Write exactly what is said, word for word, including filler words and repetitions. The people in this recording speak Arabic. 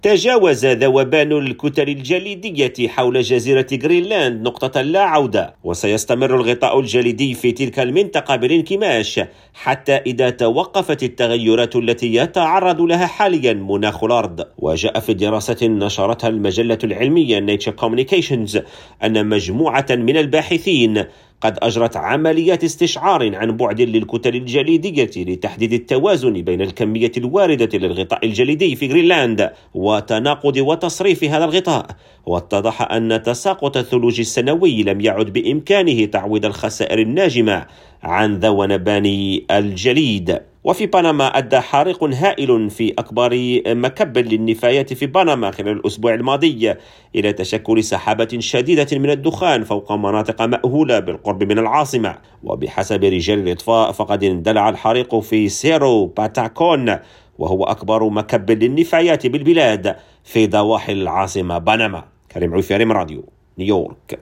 تجاوز ذوبان الكتل الجليدية حول جزيرة غرينلاند نقطة لا عودة، وسيستمر الغطاء الجليدي في تلك المنطقة بالانكماش حتى إذا توقفت التغيرات التي يتعرض لها حاليا مناخ الأرض. وجاء في دراسة نشرتها المجلة العلمية Nature Communications أن مجموعة من الباحثين قد أجرت عمليات استشعار عن بعد للكتل الجليدية لتحديد التوازن بين الكمية الواردة للغطاء الجليدي في غرينلاند وتناقض وتصريف هذا الغطاء. واتضح أن تساقط الثلوج السنوي لم يعد بإمكانه تعويض الخسائر الناجمة عن ذوبان الجليد. وفي بنما أدى حريق هائل في أكبر مكب للنفايات في بنما خلال الأسبوع الماضي إلى تشكل سحابة شديدة من الدخان فوق مناطق مأهولة بالقرب من العاصمة. وبحسب رجال الإطفاء فقد اندلع الحريق في سيرو باتاكون، وهو أكبر مكب للنفايات بالبلاد في ضواحي العاصمة بنما. كريم عفيري، راديو نيويورك.